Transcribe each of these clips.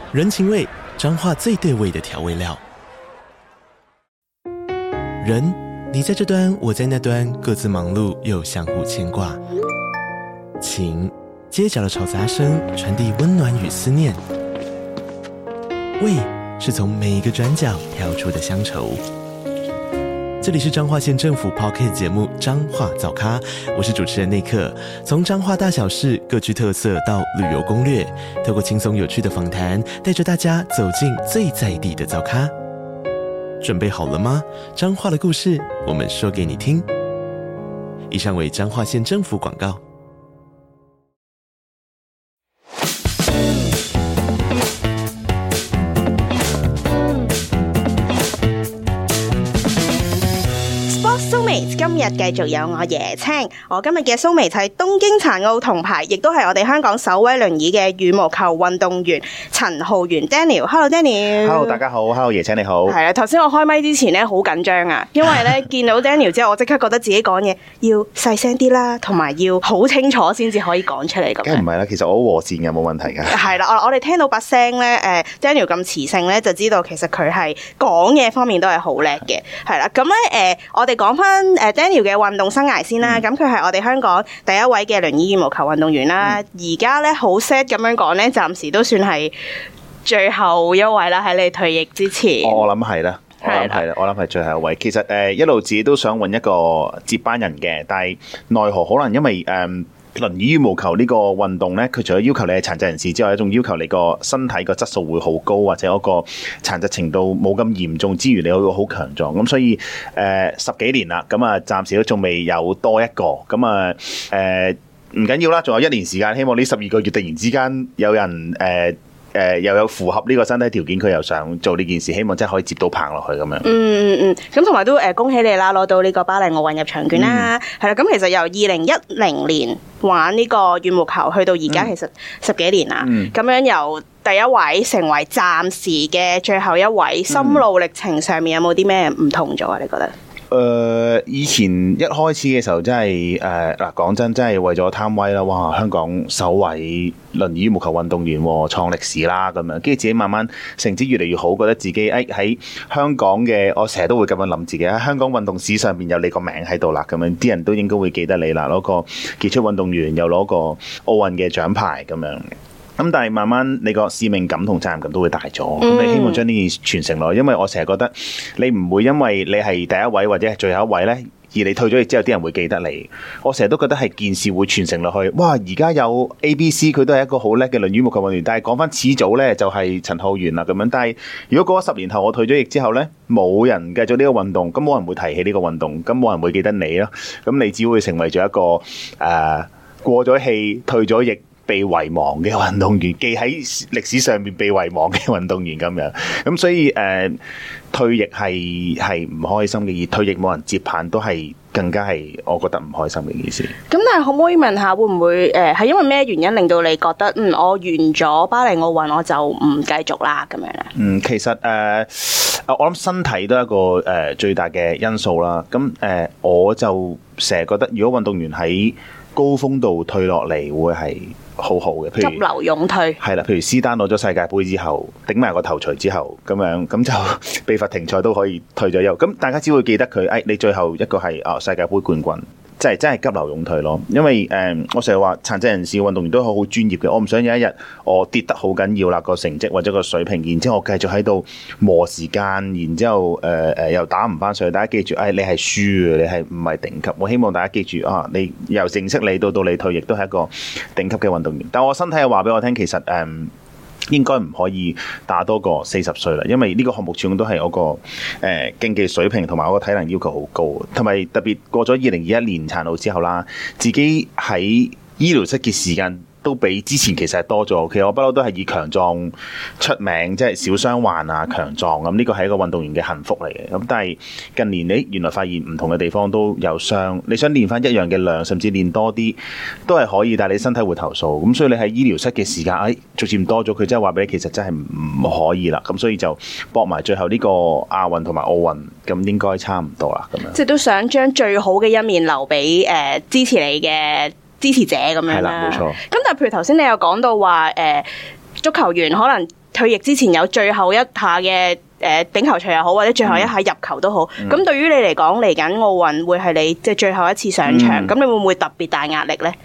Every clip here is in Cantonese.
人情味，彰化最對味的調味料。人，你在這端，我在那端，各自忙碌又相互牽掛。情，街角的吵雜聲傳遞溫暖與思念。味，是從每一個轉角跳出的鄉愁。這裡是彰化縣政府 Podcast 節目《彰化早咖》，我是主持人內克。從彰化大小事各具特色到旅遊攻略，透過輕鬆有趣的訪談，帶着大家走進最在地的早咖。準備好了嗎？彰化的故事，我們說給你聽。以上為彰化縣政府廣告。 今日繼續有我椰青，我今日嘅蘇眉係東京殘奧銅牌，亦都係我哋香港首位輪椅嘅羽毛球運動員陳浩源 Daniel。Hello Daniel。Hello 大家好 ，Hello 椰青你好。 係啊，頭先我開麥之前咧好緊張啊，因為咧見到 Daniel 之後，我即刻覺得自己講嘢要細聲啲啦，同埋要好清楚先至可以講出嚟咁。 梗係唔係啦，其實我好和善嘅，冇問題嘅。係啦，我哋聽到把聲咧，Daniel 咁磁性咧，就知道其實佢係講嘢方面都係好叻嘅。係啦，咁咧我哋講翻Daniel 嘅運動生涯先啦，咁佢係我哋香港第一位嘅輪椅羽毛球運動員啦。而家咧好 sad 咁樣講咧，暫時都算係最後一位啦，喺你退役之前。我諗係啦，我諗係最後一位。其實一路自己都想揾一個接班人嘅，但係奈何可能因為輪椅羽毛球呢個運動呢，佢除咗要求你係殘疾人士之外，仲要求你個身體個質素會好高，或者嗰個殘疾程度冇咁嚴重之餘，你會好強壯。咁所以10幾年啦，咁啊暫時都仲未有多一個。咁啊唔緊要啦，仲有1年時間，希望呢12個月突然之間有人又有符合呢個身體條件，佢又想做呢件事，希望真係可以接到棒落去咁樣。咁同埋都恭喜你啦，攞到呢個巴黎奧運入場券啦。係啦，咁其實由2010年玩呢個羽毛球去到而家，其實10幾年啦。咁樣由第一位成為暫時嘅最後一位，心路歷程上面有冇啲咩唔同咗啊？你覺得？ 以前一開始嘅時候真係嗱，講真係為咗貪威啦，哇！香港首位輪椅羽毛球運動員創歷史啦咁樣，跟住自己慢慢成績越嚟越好，覺得自己喺香港嘅，我成日都會咁樣諗自己喺香港運動史上邊有你個名喺度啦，咁樣啲人都應該會記得你啦，攞個傑出運動員，又攞個奧運嘅獎牌咁樣。咁但係慢慢你個使命感同責任感都會大咗，咁你希望將呢件傳承落去，因為我成日覺得你唔會因為你係第一位或者係最後一位呢，而你退咗役之後啲人會記得你。我成日都覺得係件事會傳承落去。哇！而家有 ABC 佢都係一個好叻嘅輪椅羽毛球運動員，但係講翻始祖呢，就係陳浩源啦咁樣。但係如果過咗10年後我退咗役之後呢，冇人繼續呢個運動，咁冇人會提起呢個運動，咁冇人會記得你咯。咁你只會成為咗一個過咗氣退咗役被遺忘嘅運動員，記喺歷史上面被遺忘嘅運動員咁樣，咁所以退役係唔開心嘅，而退役冇人接棒都係更加係我覺得唔開心嘅一件事。咁但係可唔可以問下，會唔會係因為咩原因令到你覺得我完咗巴黎奧運我就唔繼續啦咁樣咧？其實我諗身體都係一個最大嘅因素啦。咁我就成日覺得，如果運動員喺高峰度退落嚟，會係好好嘅，譬如急流勇退，係啦，譬如施丹攞咗世界盃之後，頂埋個頭錘之後，咁樣咁就被罰停賽都可以退咗休，咁大家只會記得佢，你最後一個係世界盃冠軍。真係急流勇退咯，因為我成日話殘疾人士運動員都好專業嘅，我唔想有一日我跌得好緊要啦個成績或者個水平，然之後我繼續喺度磨時間，然之後又打唔翻上去。大家記住，你係輸嘅，你係唔係頂級？我希望大家記住你由認識你到你退役都係一個頂級嘅運動員。但我身體又話俾我聽，其實應該唔可以打多過40歲啦，因為呢個項目始終都係我個競技水平同埋我個體能要求好高，同埋特別過咗2021年殘奧之後啦，自己喺醫療室嘅時間都比之前其實係多咗。其實我不嬲都係以強壯出名，即係少傷患啊，強壯咁，呢個係一個運動員嘅幸福嚟嘅。咁但係近年原來發現唔同嘅地方都有傷，你想練翻一樣嘅量，甚至練多啲都係可以，但係你身體會投訴。咁所以你喺醫療室嘅時間逐漸多咗，佢真係話俾你，其實真係唔可以啦。咁所以就搏埋最後呢個亞運同埋奧運，咁應該差唔多啦。咁樣即係都想將最好嘅一面留俾支持你嘅支持者咁樣啦。係啦，冇錯。咁但係譬如頭先你有講到話足球員可能退役之前有最後一下嘅頂頭錘又好，或者最後一下入球都好。咁對於你嚟講，嚟緊奧運會係你即係最後一次上場，咁你會唔會特別大壓力呢？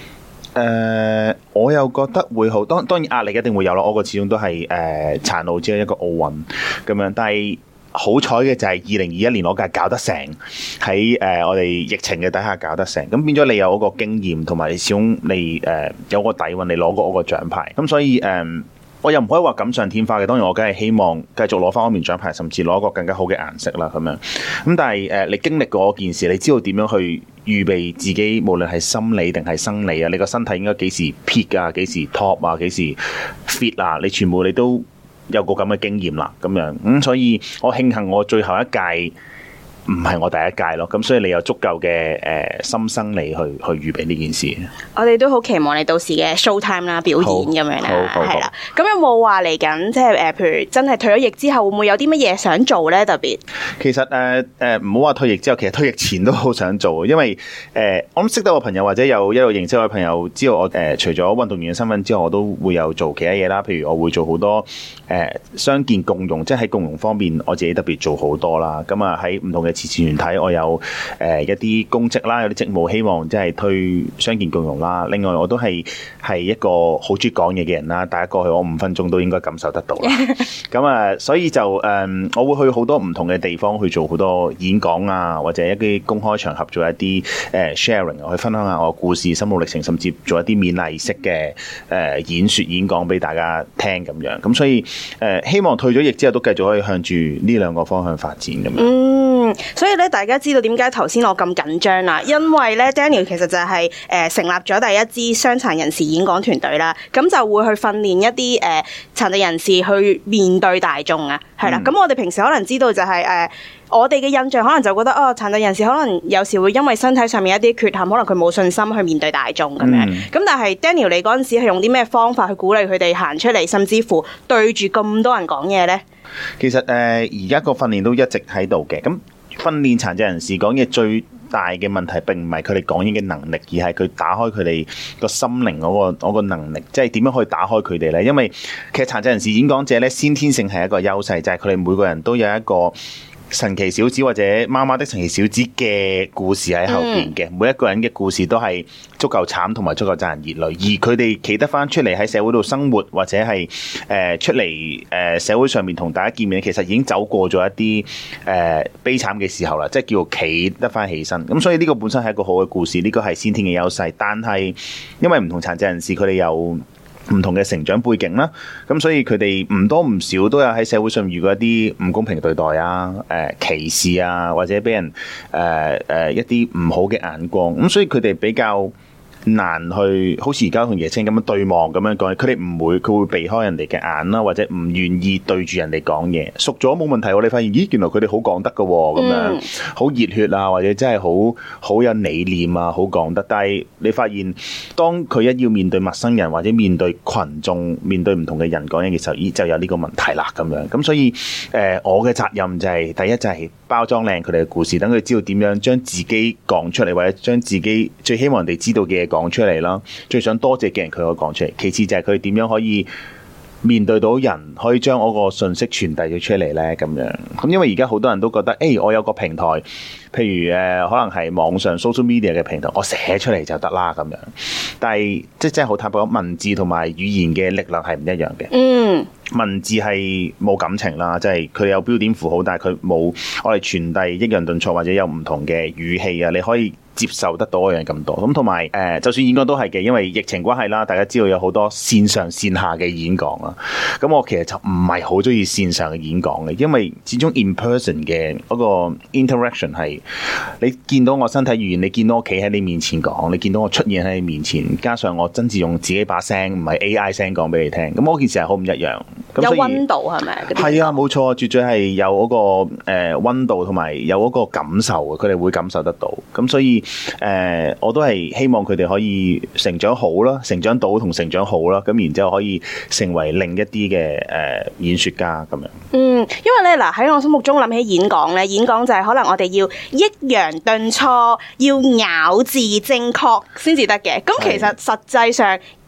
我又覺得會好，當然壓力一定會有咯。我個始終都係殘奧只係一個奧運咁樣，但係好彩嘅就係2021年我屆搞得成，喺我哋疫情嘅底下搞得成，咁變咗你有嗰個經驗，同埋始終你有個底蘊，你攞過我個獎牌，咁所以我又唔可以話錦上添花嘅，當然我梗係希望繼續攞翻嗰面獎牌，甚至攞一個更加好嘅顏色啦咁樣。咁但係你經歷過件事，你知道點樣去預備自己，無論係心理定係生理啊，你個身體應該幾時 peak 啊，幾時 top 啊，幾時 fit 啊，你全部你都有個咁嘅經驗啦咁樣。所以我慶幸我最後一屆唔係我第一屆咯，咁所以你有足夠嘅心生理去預備呢件事。我哋都好期望你到時嘅 show time 啦，表演咁樣啦，係啦。咁有冇話嚟緊，即係譬如真係退咗役之後，會唔會有啲乜嘢想做咧？特別其實唔好話退役之後，其實退役前都好想做，因為我諗識得我朋友或者有一路認識我嘅朋友，知道我除咗運動員嘅身份之外，我都會有做其他嘢啦。譬如我會做好多傷健共融，即係喺共融方面，我自己特別做好多啦。咁啊喺唔同嘅慈善團體，我有一啲公職啦，有啲職務希望即係推傷健共融啦。另外我都係一個好中意講嘢嘅人啦，大家過去我5分鐘都應該感受得到啦。咁啊，所以就我會去好多唔同嘅地方去做好多演講啊，或者一啲公開場合做一啲sharing，去分享下我故事、心路歷程，甚至做一啲勉勵式嘅演說演講俾大家聽咁樣。咁所以希望退咗役之後都繼續可以向住呢兩個方向發展咁樣。 所以咧，大家知道點解頭先我咁緊張啦？因為咧 ，Daniel 其實就係成立咗第一支傷殘人士演講團隊啦，咁就會去訓練一啲殘疾人士去面對大眾啊，係啦。咁我哋平時可能知道就係我哋嘅印象可能就覺得殘疾人士可能有時會因為身體上面一啲缺陷，可能佢冇信心去面對大眾咁樣。咁但係 Daniel 你嗰陣時係用啲咩方法去鼓勵佢哋行出嚟，甚至乎對住咁多人講嘢呢？ 其實而家個訓練都一直喺度嘅。咁訓練殘疾人士講嘢最大嘅問題並唔係佢哋講嘢嘅能力，而係佢打開佢哋個心靈嗰個能力，即係點樣可以打開佢哋呢？因為其實殘疾人士演講者呢，先天性係一個優勢，就係佢哋每個人都有一個神奇小子或者媽媽的神奇小子嘅故事喺後邊嘅。每一個人嘅故事都係足夠慘同埋足夠賺人熱淚，而佢哋企得翻出嚟喺社會度生活，或者係出嚟社會上面同大家見面，其實已經走過咗一啲悲慘嘅時候啦，即係叫企得翻起身。咁所以呢個本身係一個好嘅故事，呢個係先天嘅優勢。但係因為唔同殘疾人士佢哋有唔同嘅成長背景啦，咁所以佢哋唔多唔少都有喺社會上遇過一啲唔公平對待啊、歧視啊，或者俾人一啲唔好嘅眼光，咁所以佢哋比較難去好似而家同椰青咁樣對望咁樣講，佢哋唔會，佢會避開人哋嘅眼啦，或者唔願意對住人哋講嘢。熟咗冇問題，我哋發現咦，原來佢哋好講得㗎喎，咁樣好熱血啊，或者真係好有理念啊，好講得。但係你發現當佢一要面對陌生人或者面對群眾、面對唔同嘅人講嘢嘅時候，咦就有呢個問題啦咁樣。咁所以我嘅責任就係第一就係包裝靚佢哋嘅故事，等佢知道點樣將自己講出嚟，或者將自己最希望人哋知道嘅嘢講出嚟啦，最想多謝嘅人佢可以講出嚟。其次就係佢點樣可以面對到人，可以將我個信息傳遞咗出嚟呢？咁樣。咁因為而家好多人都覺得，我有個平台，譬如可能係網上 social media 嘅平台，我寫出嚟就得啦咁樣。但係即係真係好坦白講，文字同埋語言嘅力量係唔一樣嘅。文字係冇感情啦，即係佢有標點符號，但係佢冇我哋傳遞抑揚頓挫或者有唔同嘅語氣啊，你可以接受得到一樣咁多。咁同埋就算演講都係嘅，因為疫情關係啦，大家知道有好多線上線下嘅演講啦。咁我其實就唔係好中意線上嘅演講嘅，因為始終 in person 嘅嗰個 interaction 係你見到我身體語言，你見到我企喺你面前講，你見到我出現喺你面前，加上我真係用自己把聲，唔係 AI 聲講俾你聽。咁嗰件事係好唔一樣。 有溫度係咪？ 係啊，冇錯，絕對係有嗰個溫度同埋有嗰個感受嘅，佢哋會感受得到。咁所以我都係希望佢哋可以成長好啦，成長到同成長好啦，咁然之後可以成為另一啲嘅演說家咁樣。因為咧嗱喺我心目中諗起演講咧，演講就係可能我哋要抑揚頓挫，要咬字正確先至得嘅。咁其實實際上，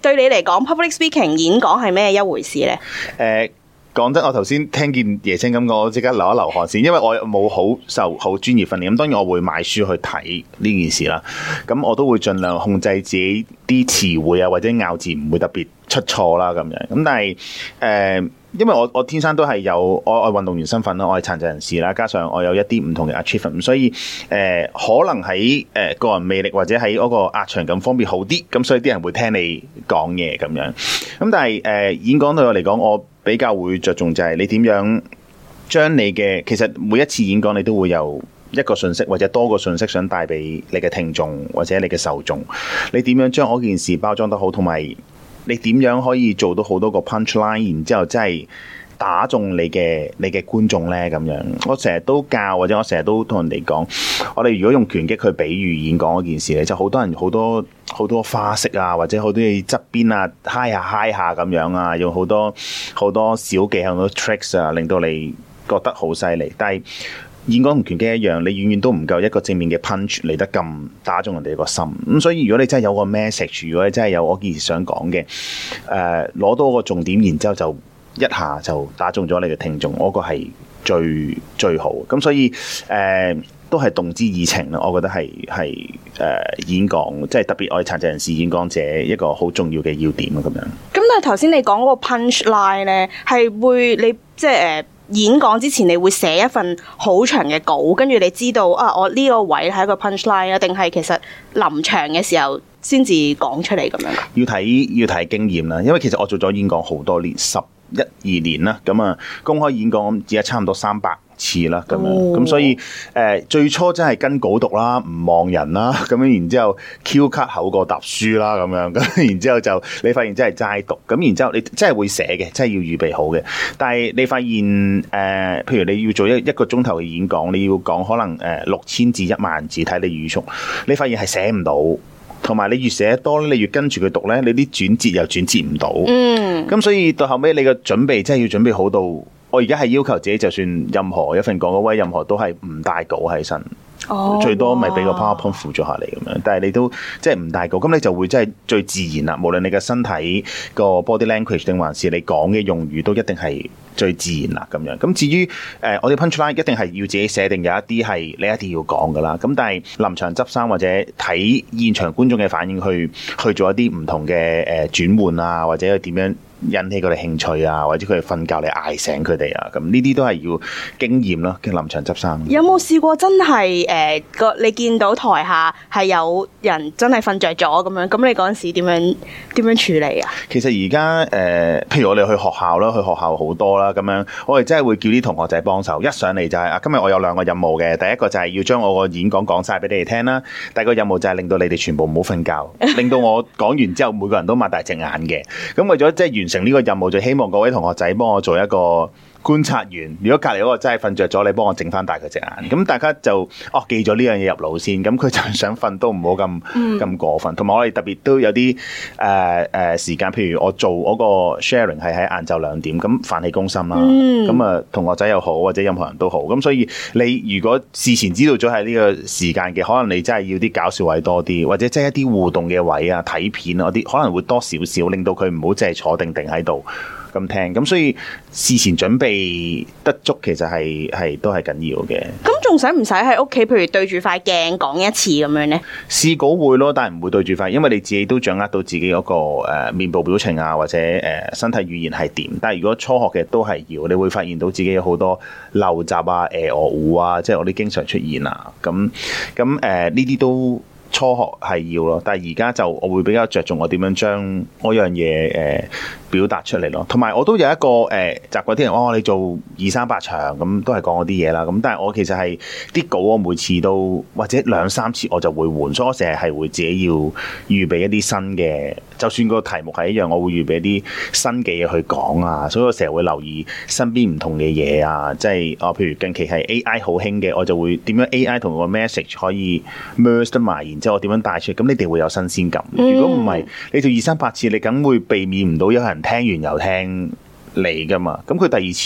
對你嚟講 public speaking 演講係咩一回事咧？ 講真，我頭先聽見椰青咁講，我即刻流一流汗先，因為我冇受好專業訓練。咁當然我會買書去睇呢件事啦。咁我都會盡量控制自己啲詞彙啊，或者咬字唔會特別出錯啦咁樣。咁但係因為我天生都係有我運動員身份啦，我係殘疾人士啦，加上我有一啲唔同嘅 achievement，所以可能喺個人魅力或者喺嗰個壓場感方面好啲，咁所以啲人會聽你講嘢咁樣。咁但係演講對我嚟講，我比較會着重就係你點樣將你嘅，其實每一次演講你都會有一個信息或者多個信息想帶俾你嘅聽眾或者你嘅受眾，你點樣將嗰件事包裝得好，同埋你點樣可以做到好多個 punchline， 然之後真係打中你嘅觀眾呢？咁樣。我成日都教或者我成日都同人哋講，我哋如果用拳擊去比喻演講嗰件事咧，就好多人好多花式啊，或者好多嘢側邊啊嗨下咁樣啊，用好多小技巧好多 tricks 啊，令到你覺得好犀利。但係演講同拳擊一樣，你遠遠都唔夠一個正面嘅 punch 嚟得咁打中人哋個心。咁所以如果你真係有個 message， 如果你真係有我件事想講嘅，攞到個重點，然之後就一下就打中咗你嘅聽眾，我個係最好。咁所以都係動之以情啦。我覺得係演講，即係特別我哋殘疾人士演講者一個好重要嘅要點啊。咁樣。咁但係頭先你講嗰個 punch line 咧，係會你即係演講之前你會寫一份好長嘅稿，跟住你知道我呢個位係一個 punch line 啊，定係其實臨場嘅時候先至講出嚟咁樣？ 要睇經驗啦，因為其實我做咗演講好多年，11、12年啦，咁啊公開演講而家差唔多300次啦，咁樣咁所以最初真係跟稿讀啦，唔望人啦，咁樣然之後 Q 卡口過答書啦，咁樣咁然之後就你發現真係齋讀，咁然之後你真係會寫嘅，真係要預備好嘅。但係你發現譬如你要做一個鐘頭嘅演講，你要講可能6000字10000字，睇你語速，你發現係寫唔到。同埋你越寫得多，你越跟住佢讀咧，你啲轉折又轉折唔到。咁所以到後尾你嘅準備真係要準備好到，我而家係要求自己，就算任何一份講嗰位，任何都係唔帶稿喺身。最多咪俾個 PowerPoint 輔助下嚟咁樣，但係你都即係唔帶稿，咁你就會真係最自然啦。無論你嘅身體個 body language 定還是你講嘅用語，都一定係最自然啦咁樣。咁至於我哋 punchline 一定係要自己寫定，有一啲係你一定要講噶啦。咁但係臨場執生或者睇現場觀眾嘅反應去做一啲唔同嘅轉換啊，或者點樣引起佢哋興趣啊，或者佢哋瞓覺你嗌醒佢哋啊，咁呢啲都係要經驗咯嘅臨場執生。 有冇試過真係你見到台下係有人真係瞓着咗咁樣？咁你嗰陣時點樣處理啊？其實而家譬如我哋去學校啦，去學校好多啦，咁樣我哋真係會叫啲同學仔幫手。一上嚟就係今日我有2個任務嘅，第一個就係要將我個演講講晒俾你哋聽啦，第二個任務就係令到你哋全部唔好瞓覺，令到我講完之後每個人都擘大隻眼嘅。咁為咗即係完成呢個任務，就希望各位同學仔幫我做一個觀察員。如果隔籬嗰個真係瞓着咗，你幫我整翻大佢隻眼。咁大家就記咗呢樣嘢入腦先。咁佢就想瞓都唔好咁過分。同埋我哋特別都有啲時間，譬如我做嗰個 sharing 係喺晏晝2點，咁飯氣攻心啦。咁同學仔又好，或者任何人都好。咁所以你如果事前知道咗係呢個時間嘅，可能你真係要啲搞笑位多啲，或者即係一啲互動嘅位啊、睇片啊嗰啲，可能會多少少，令到佢唔好淨係坐定喺度咁聽。咁所以事前準備得足，其實係都係緊要嘅。 咁仲使唔使喺屋企，譬如對住塊鏡講一次咁樣呢？ 試稿會咯，但係唔會對住塊，因為你自己都掌握到自己嗰個面部表情啊，或者身體語言係點。但係如果初學嘅都係要，你會發現到自己有好多陋習啊、糊啊，即係我啲經常出現啊。咁呢啲都初學係要咯，但係而家就我會比較着重我點樣將嗰樣嘢表達出嚟咯。同埋我都有一個習慣，啲人你做200-300場咁都係講嗰啲嘢啦。咁但係我其實係啲稿我每次都或者2-3次我就會換，所以我成日係會自己要預備一啲新嘅，就算個題目係一樣，我會預備一啲新嘅嘢去講啊。所以我成日會留意身邊唔同嘅嘢啊，即係譬如近期係 AI 好興嘅，我就會點樣 AI 同個 message 可以 merge 得埋，然之後我點樣帶出，咁你哋會有新鮮感。如果唔係，你做200-300次，你梗會避免唔到有人聽完又聽你噶嘛。咁佢第二次咪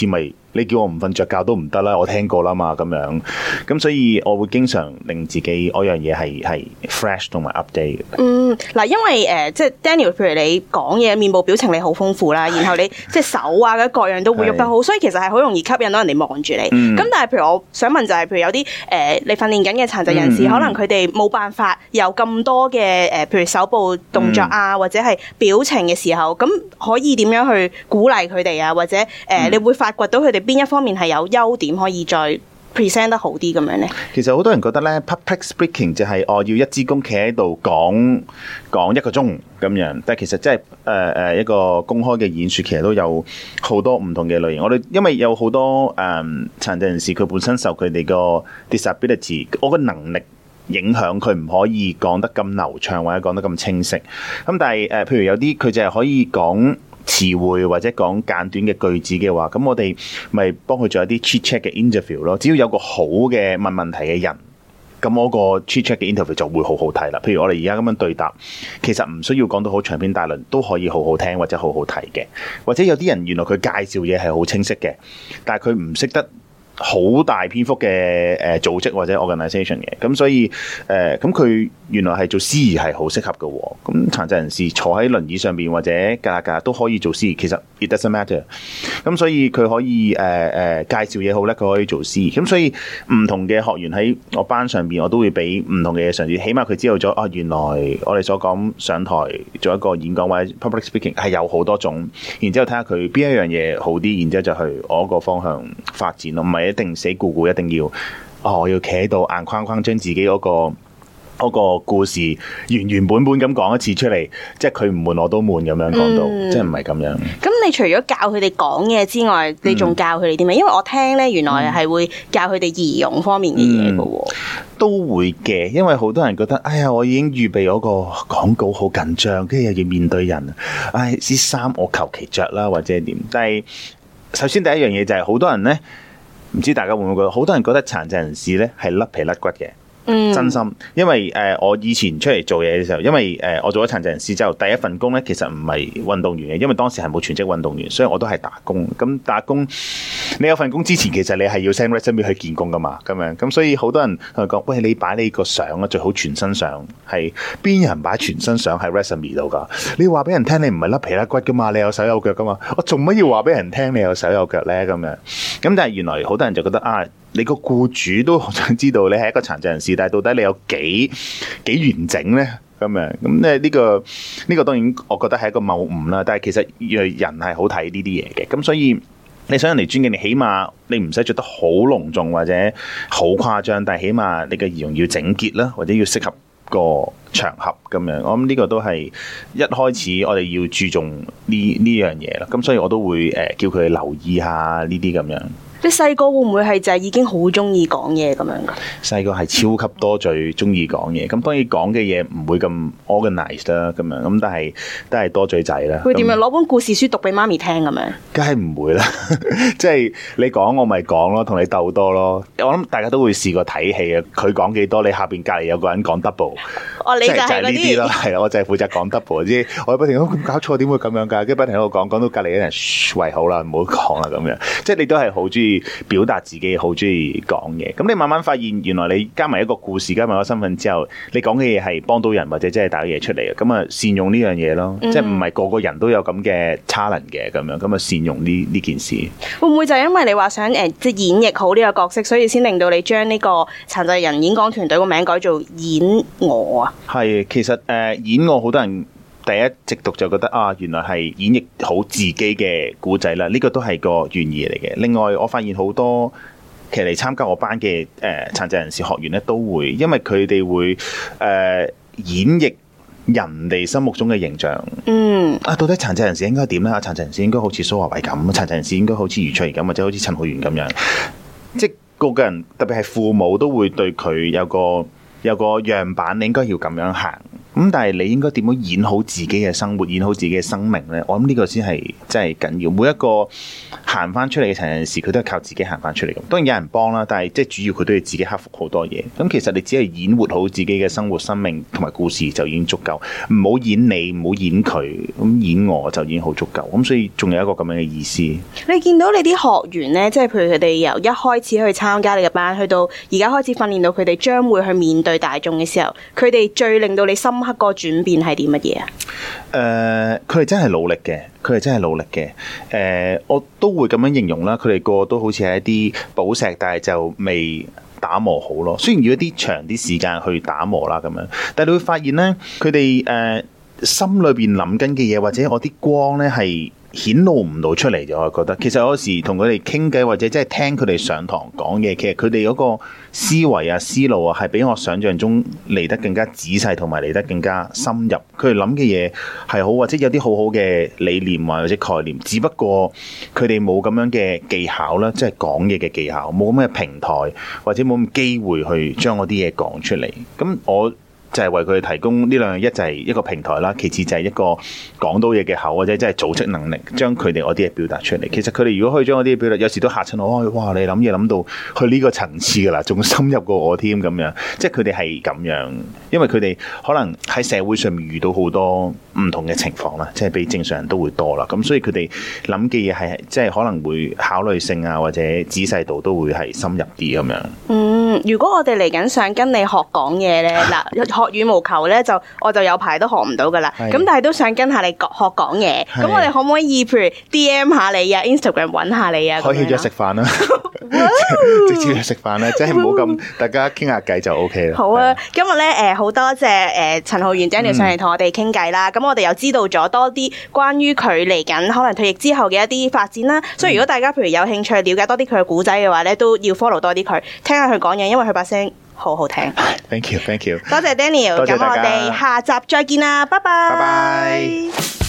你叫我唔瞓着覺都唔得啦，我聽過啦嘛咁樣。咁所以我會經常令自己嗰樣嘢係 fresh 同埋 update 嘅。 嗱，因為即係 Daniel，譬如你講嘢面部表情你好豐富啦，然後你即係手啊各樣都會喐得好，所以其實係好容易吸引到人哋望住你。咁但係譬如我想問就係，譬如有啲你訓練緊嘅殘疾人士，可能佢哋冇辦法有咁多嘅譬如手部動作啊，或者係表情嘅時候，咁可以點樣去鼓勵佢哋啊？或者你會發掘到佢哋邊一方面係有優點可以再 present 得好啲咁樣咧？其實好多人覺得咧 public speaking 就係要一支公企喺度講1個鐘咁樣，但係其實即係一個公開嘅演說，其實都有好多唔同嘅類型。我哋因為有好多殘疾人士，佢本身受佢哋個 disability 我個能力影響，佢唔可以講得咁流暢或者講得咁清晰。咁但係譬如有啲佢就係可以講詞彙或者講簡短嘅句子嘅話，咁我哋咪幫佢做一啲 chit chat 嘅 interview 咯。只要有個好嘅問問題嘅人，咁我個 chit chat 嘅 interview 就會好好睇啦。譬如我哋而家咁樣對答，其實唔需要講到好長篇大論，都可以好好聽或者好好睇嘅。或者有啲人原來佢介紹嘢係好清晰嘅，但係佢唔識得好大篇幅嘅組織或者 organisation 嘅，咁所以咁佢原來係做司儀係好適合嘅喎。咁殘疾人士坐喺輪椅上邊或者架都可以做司儀，其實 it doesn't matter。咁所以佢可以介紹嘢好叻，佢可以做司儀。咁所以唔同嘅學員喺我班上邊，我都會俾唔同嘅嘢嘗試，起碼佢知道咗原來我哋所講上台做一個演講或者 public speaking 係有好多種，然之後睇下佢邊一樣嘢好啲，然之後就去我個方向發展咯，唔係一定死咕咕一定要我要企喺度硬框框將自己嗰個故事原本咁講一次出嚟，即係佢唔悶我都悶咁樣講到，即係唔係咁樣。咁你除咗教佢哋講嘢之外，你仲教佢哋啲咩？因為我聽咧，原來係會教佢哋儀容方面嘅嘢㗎。 都會嘅，因為好多人覺得，哎呀，我已經預備嗰個廣告好緊張，跟住又要面對人，啲衫我求其着啦，或者點。但係首先第一樣嘢就係好多人咧，唔知大家會唔會覺得，好多人覺得殘疾人士咧係甩皮甩骨嘅。真心，因為我以前出嚟做嘢嘅時候，因為我做咗殘疾人士之後，第一份工咧其實唔係運動員嘅，因為當時係冇全職運動員，所以我都係打工。咁打工，你有份工之前，其實你係要 send resume 去見工噶嘛，咁樣。咁所以好多人同佢講，喂，你擺你個相啊，最好全身相。係邊有人擺全身相喺 resume 度噶？你話俾人聽，你唔係甩皮甩骨噶嘛，你有手有腳噶嘛？我做乜要話俾人聽你有手有腳咧？咁樣。咁但係原來好多人就覺得你個僱主都好想知道你係一個殘疾人士，但係到底你有幾完整咧？咁樣咁咧呢個當然我覺得係一個謬誤啦。但係其實人係好睇呢啲嘢嘅，咁所以你想人哋尊敬你，起碼你唔使着得好隆重或者好誇張，但係起碼你嘅儀容要整潔啦，或者要適合個場合咁樣。我諗呢個都係一開始我哋要注重呢樣嘢啦。咁所以我都會叫佢留意下呢啲咁樣。 你細個會唔會係就係已經好中意講嘢咁樣噶？ 細個係超級多嘴中意講嘢，咁當然講嘅嘢唔會咁 organized 啦，咁樣咁但係都係多嘴仔啦。 會點樣攞本故事書讀俾媽咪聽咁樣？ 梗係唔會啦，即係你講我咪講咯，同你鬥多咯。我諗大家都會試過睇戲啊，佢講幾多，你下邊隔離有個人講 double。 你就係呢啲咯，係我就係負責講 double 啫。我不停咁搞錯，點會咁樣㗎？跟住不停喺度講到隔離有人喂好啦，唔好講啦咁樣。即係你都係好中意表達自己，好中意講嘢。咁你慢慢發現，原來你加埋一個故事，加埋一個身份之後，你講嘅嘢係幫到人或者真係帶嘢出嚟嘅。咁啊，善用呢樣嘢咯，即係唔係個個人都有咁嘅 talent 嘅咁樣。咁啊，善用呢件事。會唔會就係因為你話想即係演繹好呢個角色，所以先令到你將呢個殘疾人演講團隊個名改做演我啊？ 係，其實演我好多人第一直讀就覺得原來係演繹好自己嘅故仔啦，呢個都係個原意嚟嘅。另外，我發現好多其實嚟參加我班嘅殘疾人士學員咧，都會因為佢哋會演繹人哋心目中嘅形象。到底殘疾人士應該點咧？殘疾人士應該好似蘇樺偉咁，殘疾人士應該好似余翠怡咁，或者好似陳浩源咁樣。即係個人，特別係父母都會對佢有個樣板，你應該要咁樣行。咁咁但係你應該點樣演好自己嘅生活，演好自己嘅生命呢？我諗呢個先係真係緊要。每一個行翻出嚟嘅成件事，佢都係靠自己行翻出嚟。咁當然有人幫啦，但係即係主要佢都要自己克服好多嘢。咁其實你只係演活好自己嘅生活、生命同埋故事就已經足夠。唔好演你，唔好演佢，咁演我就已經好足夠。咁所以仲有一個咁樣嘅意思。 你見到你啲學員呢，即係譬如佢哋由一開始去參加你嘅班，去到而家開始訓練到佢哋將會去面對大眾嘅時候，佢哋最令到你深刻個轉變係啲乜嘢啊？ 佢哋真係努力嘅，佢哋真係努力嘅。我都會咁樣形容啦。佢哋個個都好似係一啲寶石，但係就未打磨好咯。雖然要一啲長啲時間去打磨啦，咁樣，但係你會發現咧，佢哋心裏邊諗緊嘅嘢，或者我啲光咧係顯露唔到出嚟嘅。我覺得其實有時同佢哋傾偈，或者即係聽佢哋上堂講嘅，其實佢哋嗰個思維啊、思路啊，係比我想象中嚟得更加仔細，同埋嚟得更加深入。佢哋諗嘅嘢係好，或者有啲好好嘅理念或者概念，只不過佢哋冇咁樣嘅技巧啦，即係講嘢嘅技巧，冇咁嘅平台，或者冇咁機會去將嗰啲嘢講出嚟。咁我就係為佢哋提供呢兩樣，一就係一個平台啦，其次就係一個講到嘢嘅口，或者即係組織能力，將佢哋嗰啲嘢表達出嚟。其實佢哋如果可以將嗰啲嘢表達，有時都嚇親我。哇！你諗嘢諗到去呢個層次噶啦，仲深入過我添咁樣。即係佢哋係咁樣，因為佢哋可能喺社會上面遇到好多唔同嘅情況啦，即係比正常人都會多啦。咁所以佢哋諗嘅嘢係即係可能會考慮性啊，或者仔細度都會係深入啲咁樣。 如果我哋嚟緊想跟你學講嘢咧，嗱學羽毛球咧我就有排都學唔到噶啦，咁但係都想跟下你學講嘢，咁我哋可唔可以譬如 DM 下你啊 ，Instagram 揾下你啊？可以咗食飯啦，直接去食飯啦，即係唔好咁大家傾下偈就 OK 啦。好啊， 今日咧好多謝陳浩源 Daniel 上嚟同我哋傾偈啦，咁我哋又知道咗多啲關於佢嚟緊可能退役之後嘅一啲發展啦，所以如果大家譬如有興趣了解多啲佢嘅故仔嘅話咧，都要 follow 多啲佢，聽下佢講嘢，因為佢把聲好好聽。 Thank you， 多謝 Daniel，咁我哋下集再見啦，拜拜。